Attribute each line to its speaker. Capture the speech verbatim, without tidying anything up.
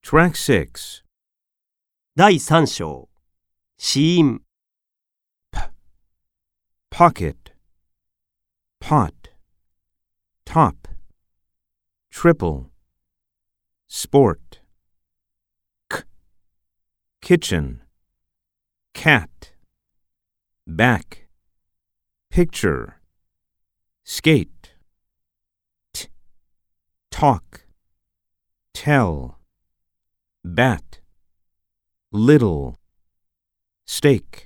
Speaker 1: Track six.
Speaker 2: 第三章、子音。
Speaker 1: Pocket, pot, top, triple, sport, k, kitchen, cat, back, picture, skate, t, talk, tell, bat, little, steak.